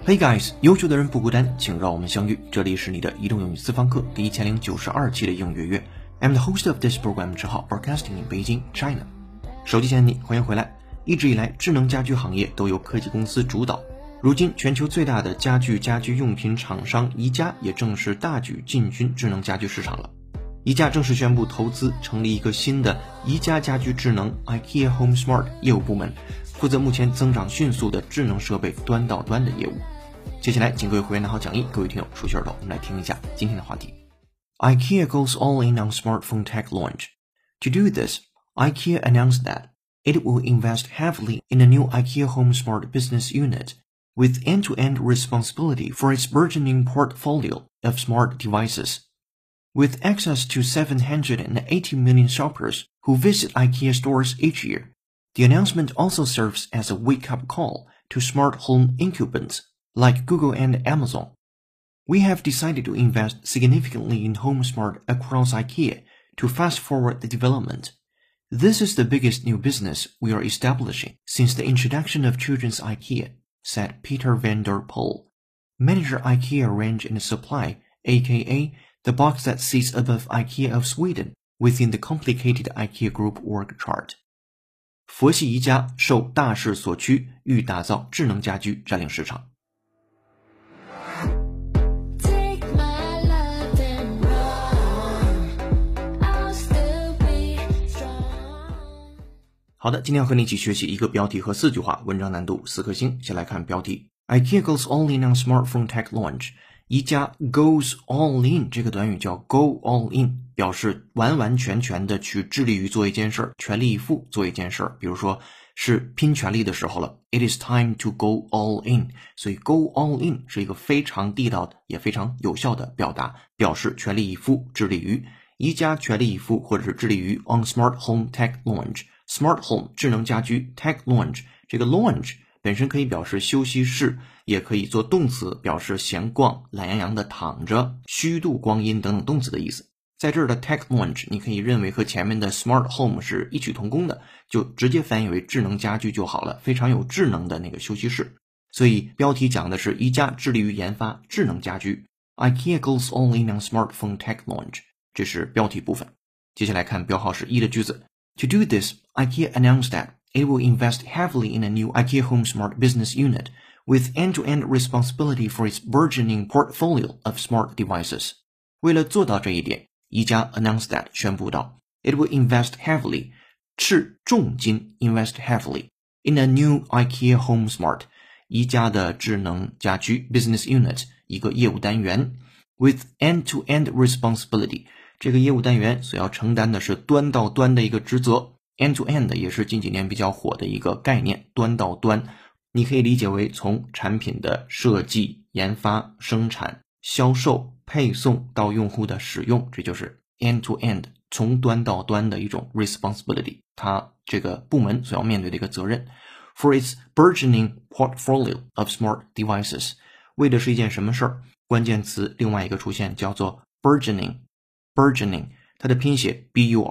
Hey guys， 优秀的人不孤单，请让我们相遇。这里是你的移动英语私房课第1092期的英语月。I'm the host of this program， 之号 Broadcasting in Beijing, China。手机前的你，欢迎回来。一直以来，智能家居行业都由科技公司主导。如今，全球最大的家居用品厂商宜家也正式大举进军智能家居市场了。宜家正式宣布投资成立一个新的宜家家居智能 IKEA Home Smart 业务部门，负责目前增长迅速的智能设备端到端的业务。接下来，请各位会员拿好讲义，各位听友竖起耳朵，我们来听一下今天的话题。IKEA goes all in on smartphone tech launch. To do this, IKEA announced that it will invest heavily in a new IKEA Home Smart business unit, with end-to-end responsibility for its burgeoning portfolio of smart devices. With access to 780 million shoppers who visit IKEA stores each year, the announcement also serves as a wake-up call to smart home incumbents like Google and Amazon. We have decided to invest significantly in Home Smart across IKEA to fast-forward the development. This is the biggest new business we are establishing since the introduction of children's IKEA, said Peter van der Poel, manager IKEA Range and Supply, aka the box that sits above IKEA of Sweden within the complicated IKEA Group org chart. 佛系宜家受大势所趋，欲打造智能家居占领市场。好的，今天要和你一起学习一个标题和4句话，文章难度4颗星。先来看标题 IKEA goes all in on smartphone tech launch。 宜家 goes all in 这个短语叫 go all in， 表示完完全全的去致力于做一件事，全力以赴做一件事。比如说是拼全力的时候了， It is time to go all in。 所以 go all in 是一个非常地道的也非常有效的表达，表示全力以赴，致力于。宜家全力以赴或者是致力于 on smart home tech launch。Smart Home 智能家居 Tech Launch， 这个 Launch 本身可以表示休息室，也可以做动词表示闲逛、懒洋洋的躺着、虚度光阴等等动词的意思。在这儿的 Tech Launch 你可以认为和前面的 Smart Home 是异曲同工的，就直接翻译为智能家居就好了，非常有智能的那个休息室。所以标题讲的是宜家致力于研发智能家居， IKEA goes all in on smartphone tech launch， 这是标题部分。接下来看标号是1的句子。To do this, IKEA announced that it will invest heavily in a new IKEA Home Smart business unit, with end-to-end responsibility for its burgeoning portfolio of smart devices. 为了做到这一点，宜家 announced that 宣布到 it will invest heavily 斥重金 invest heavily in a new IKEA Home Smart 宜家的智能家居 business unit 一个业务单元 with end-to-end responsibility。这个业务单元所要承担的是端到端的一个职责 ，end to end 也是近几年比较火的一个概念，端到端，你可以理解为从产品的设计、研发、生产、销售、配送到用户的使用，这就是 end to end， 从端到端的一种 responsibility， 它这个部门所要面对的一个责任。For its burgeoning portfolio of smart devices， 为的是一件什么事儿？关键词另外一个出现叫做 burgeoning， 它的拼写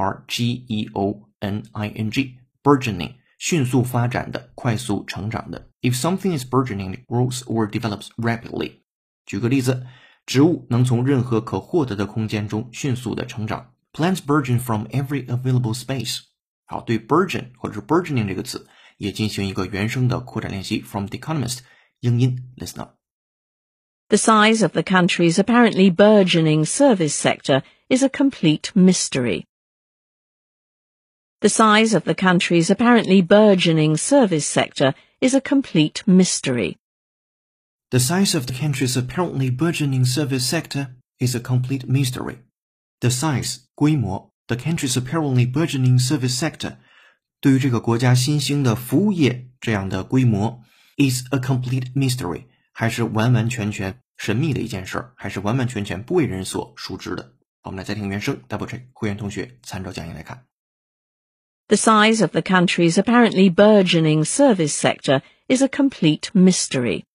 burgeoning， burgeoning 迅速发展的，快速成长的。 If something is burgeoning, it grows or develops rapidly。 举个例子，植物能从任何可获得的空间中迅速的成长。 Plants burgeon from every available space。 好，对 burgeon 或者是 burgeoning 这个词也进行一个原声的扩展练习。 From The Economist 英音 Listen up。The size of the country's apparently burgeoning service sector is a complete mystery. The size of the country's apparently burgeoning service sector is a complete mystery. The size of the country's apparently burgeoning service sector is a complete mystery. The size 规模 the country's apparently burgeoning service sector 对于这个国家新兴的服务业这样的规模 is a complete mystery 还是完完全全神秘的一件事，还是完完全全不为人所熟知的。好，我们来再听原声 double check， 会员同学参照讲义来看。 The size of the country's apparently burgeoning service sector is a complete mystery.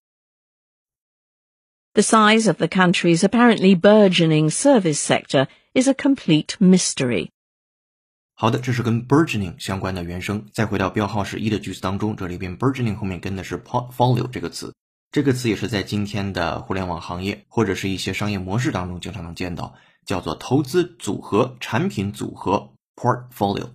The size of the country's apparently burgeoning service sector is a complete mystery. 好的，这是跟 burgeoning 相关的原声。再回到标号是1的句子当中，这里边 burgeoning 后面跟的是 portfolio 这个词。 这个词也是在今天的互联网行业或者是一些商业模式当中经常能见到，叫做投资组合、产品组合 portfolio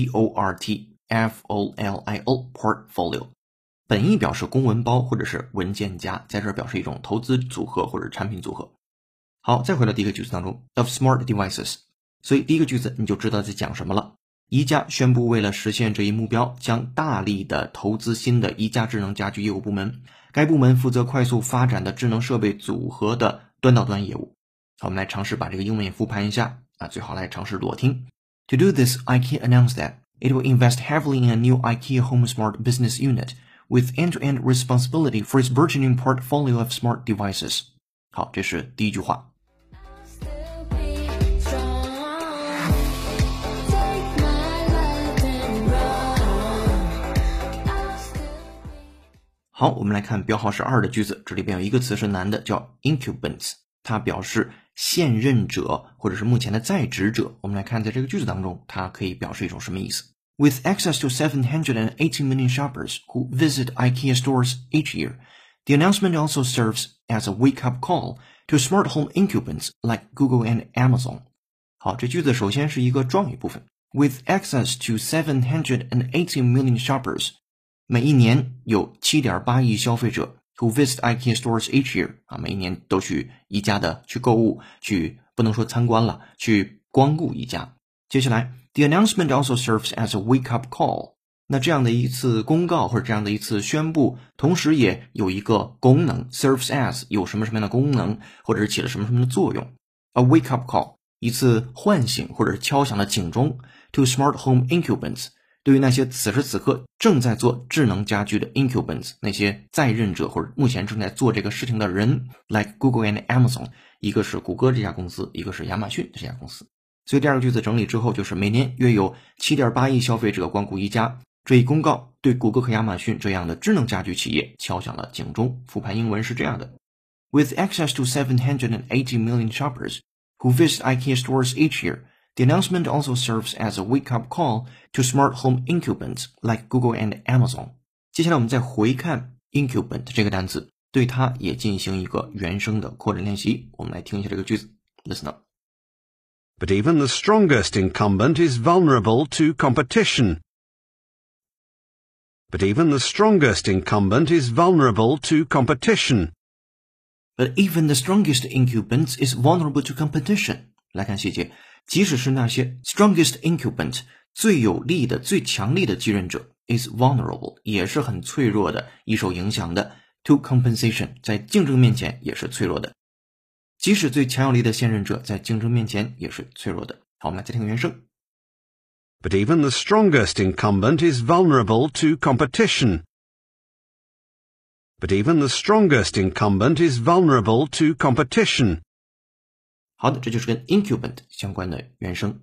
P-O-R-T-F-O-L-I-O portfolio， 本意表示公文包或者是文件夹，在这儿表示一种投资组合或者产品组合。好，再回到第一个句子当中 of smart devices， 所以第一个句子你就知道在讲什么了。宜家宣布为了实现这一目标，将大力的投资新的宜家智能家居业务部门，该部门负责快速发展的智能设备组合的端到端业务。好，我们来尝试把这个英文也复盘一下最好来尝试裸听。To do this, IKEA announced that it will invest heavily in a new IKEA Home Smart business unit with end-to-end responsibility for its burgeoning portfolio of smart devices. 好，这是第一句话。好，我们来看标号是2的句子，这里边有一个词是男的，叫 incumbents， 它表示现任者或者是目前的在职者。我们来看在这个句子当中，它可以表示一种什么意思。With access to 780 million shoppers who visit IKEA stores each year, the announcement also serves as a wake-up call to smart home incumbents like Google and Amazon. 好，这句子首先是一个状语部分。With access to 780 million shoppers，每一年有 7.8 亿消费者 who visit IKEA stores each year 每一年都去宜家的去购物，去不能说参观了，去光顾宜家。接下来 the announcement also serves as a wake-up call， 那这样的一次公告或者这样的一次宣布，同时也有一个功能 serves as 有什么什么样的功能，或者是起了什么什么的作用。 A wake-up call 一次唤醒或者是敲响的警钟 to smart home incumbents，对于那些此时此刻正在做智能家居的 incumbents， 那些在任者或者目前正在做这个事情的人 like Google and Amazon， 一个是谷歌这家公司，一个是亚马逊这家公司。所以第二个句子整理之后就是每年约有 7.8 亿消费者光顾宜家，这一公告对谷歌和亚马逊这样的智能家居企业敲响了警钟。复盘英文是这样的 With access to 780 million shoppers who visit IKEA stores each year,The announcement also serves as a wake-up call to smart home incumbents like Google and Amazon. 接下来我们再回看 incumbent 这个单词，对它也进行一个原声的扩展练习。我们来听一下这个句子 Listen up. But even the strongest incumbent is vulnerable to competition. But even the strongest incumbent is vulnerable to competition. But even the strongest incumbent is vulnerable to competition. 来看细节，即使是那些 strongest incumbent 最有力的、最强力的继任者 is vulnerable 也是很脆弱的，易受影响的 to compensation 在竞争面前也是脆弱的。即使最强有力的现任者在竞争面前也是脆弱的。好，我们来再听原声。 But even the strongest incumbent is vulnerable to competition. But even the strongest incumbent is vulnerable to competition. 好的，这就是跟 incumbent 相关的原声。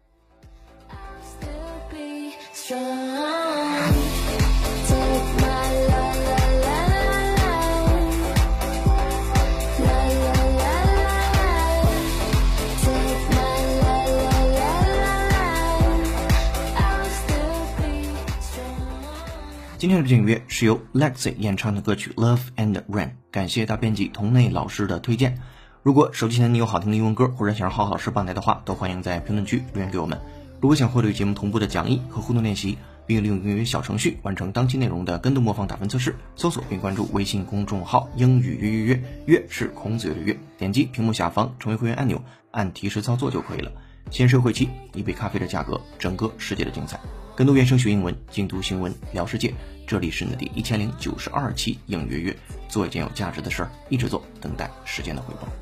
今天的背景音乐是由 Lexi 演唱的歌曲 Love and Rain， 感谢大编辑童内老师的推荐。如果手机前你有好听的英文歌，或者想让浩浩老师帮带的话，都欢迎在评论区留言给我们。如果想获得与节目同步的讲义和互动练习，并利用英语小程序完成当期内容的跟读模仿打分测试，搜索并关注微信公众号英语约约约，约是孔子约的约，点击屏幕下方成为会员按钮，按提示操作就可以了。先设会期，一杯咖啡的价格，整个世界的精彩。跟读原声学英文，精读新闻聊世界。这里是你的第1092期英约约，做一件有价值的事儿，一直做，等待时间的回报。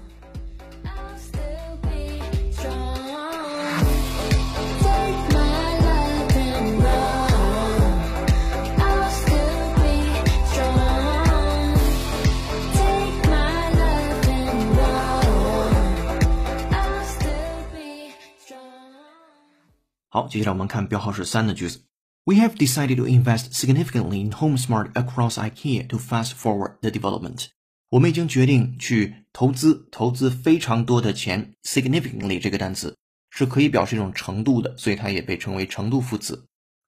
好，接下来我们看标号是3的句子。We have decided to invest significantly in Home Smart across IKEA to fast forward the development. 我们已经决定去投资非常多的钱。significantly 这个单词是可以表示一种程度的，所以它也被称为程度副词。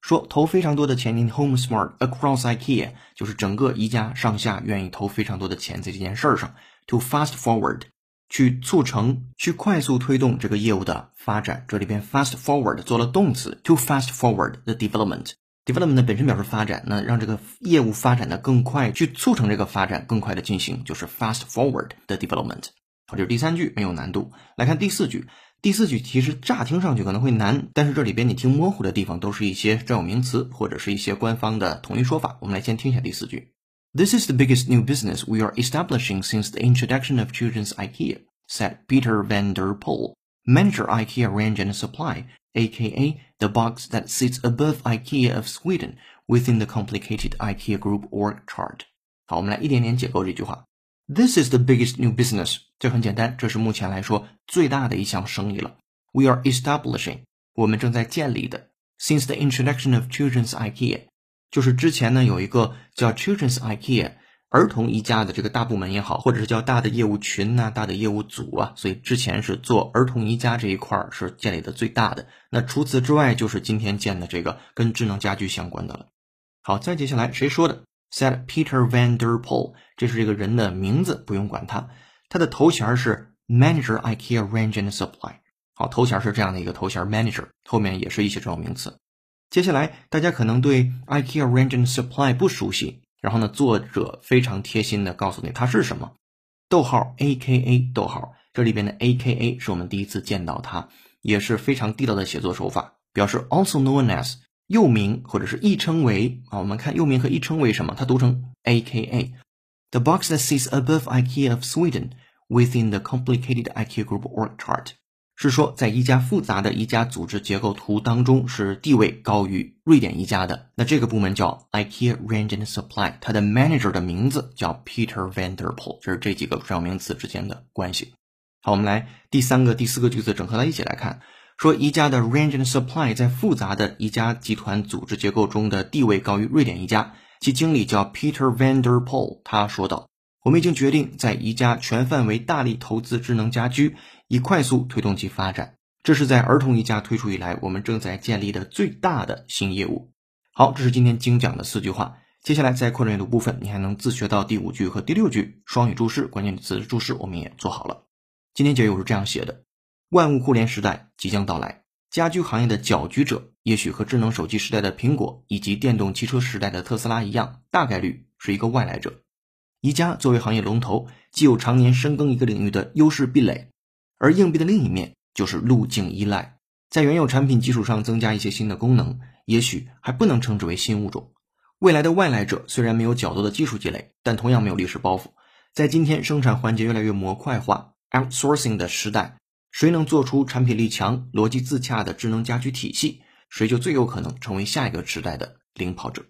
说投非常多的钱 in HomeSmart across IKEA， 就是整个宜家上下愿意投非常多的钱在这件事上 to fast forward， 去促成去快速推动这个业务的发展。这里边 fast forward 做了动词 to fast forward the development 本身表示发展，那让这个业务发展的更快，去促成这个发展更快的进行，就是 fast forward the development。 好，这是第3句，没有难度。来看第4句，第4句其实乍听上去可能会难，但是这里边你听模糊的地方都是一些专有名词或者是一些官方的统一说法。我们来先听一下第4句。 This is the biggest new business we are establishing since the introduction of children's IKEA, said Peter van der Pol, manager IKEA Range and Supply, aka the box that sits above IKEA of Sweden within the complicated IKEA Group org chart. 好，我们来一点点解构这句话。 This is the biggest new business， 这很简单，这是目前来说最大的一项生意了。 We are establishing， 我们正在建立的。 Since the introduction of children's IKEA， 就是之前呢有一个叫 children's IKEA 儿童宜家的这个大部门也好，或者是叫大的业务群啊，大的业务组啊，所以之前是做儿童宜家这一块是建立的最大的。那除此之外就是今天建的这个跟智能家居相关的了。好，再接下来谁说的？ said Peter van der Pol， 这是这个人的名字，不用管他。他的头衔是 Manager IKEA Range and Supply。 好，头衔是这样的一个头衔 Manager， 后面也是一些专有名词。接下来大家可能对 IKEA Range and Supply 不熟悉，然后呢作者非常贴心的告诉你它是什么，逗号 AKA 逗号，这里边的 AKA 是我们第一次见到它，也是非常地道的写作手法，表示 also known as 又名或者是亦称为啊。我们看又名和亦称为什么，它读成 AKA The box that sits above IKEA of Sweden within the complicated IKEA Group org chart， 是说在宜家复杂的宜家组织结构图当中是地位高于瑞典宜家的。那这个部门叫 IKEA Range and Supply， 它的 manager 的名字叫 Peter van der Pol， 这是这几个专有名词之间的关系。好，我们来第3个、第4个句子整合在一起来看。说宜家的 Range and Supply 在复杂的宜家集团组织结构中的地位高于瑞典宜家，其经理叫 Peter van der Pol， 他说道，我们已经决定在宜家全范围大力投资智能家居，以快速推动其发展。这是在儿童宜家推出以来我们正在建立的最大的新业务。好，这是今天精讲的4句话。接下来在扩展阅读部分，你还能自学到第5句和第6句双语注释、关键词注释，我们也做好了。今天结语我是这样写的：万物互联时代即将到来，家居行业的搅局者也许和智能手机时代的苹果以及电动汽车时代的特斯拉一样，大概率是一个外来者。宜家作为行业龙头，既有常年深耕一个领域的优势壁垒，而硬币的另一面就是路径依赖，在原有产品基础上增加一些新的功能，也许还不能称之为新物种。未来的外来者虽然没有较多的技术积累，但同样没有历史包袱。在今天生产环节越来越模块化 outsourcing 的时代，谁能做出产品力强、逻辑自洽的智能家居体系，谁就最有可能成为下一个时代的领跑者。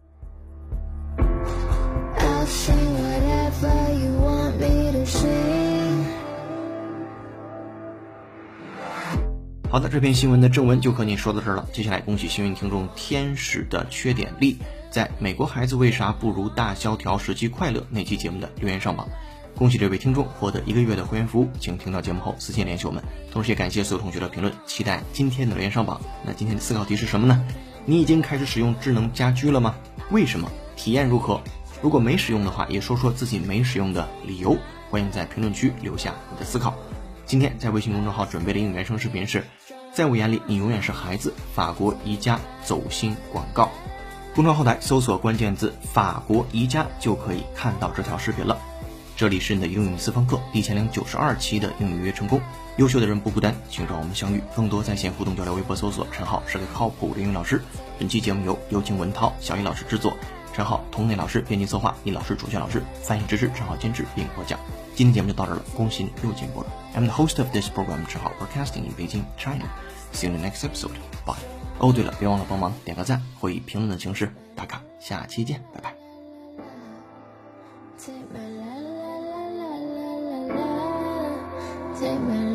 好的，这篇新闻的正文就和你说到这儿了。接下来恭喜幸运听众天使的缺点力在美国孩子为啥不如大萧条时期快乐那期节目的留言上榜。恭喜这位听众获得1个月的会员服务，请听到节目后私信联系我们。同时也感谢所有同学的评论，期待今天的留言上榜。那今天的思考题是什么呢？你已经开始使用智能家居了吗？为什么？体验如何？如果没使用的话，也说说自己没使用的理由。欢迎在评论区留下你的思考。今天在微信公众号准备的英语原声视频是在我眼里你永远是孩子，法国宜家走心广告。公众号后台搜索关键字法国宜家就可以看到这条视频了。这里是你的英语私房课第1092期的英语约成功，优秀的人不孤单，请找我们相遇。更多在线互动交流，微博搜索陈浩是个靠谱的英语老师。本期节目由有请文涛、小易老师制作，陈浩、童内老师编辑策划，易老师主讲老师翻译支持，陈浩监制并播讲。今天节目就到这儿了，恭喜你又进步了。I'm the host of this program, 陈浩 broadcasting in Beijing, China. See you in the next episode. Bye. 哦，对了，别忘了帮忙点个赞或以评论的形式打卡。下期见，拜拜。Take my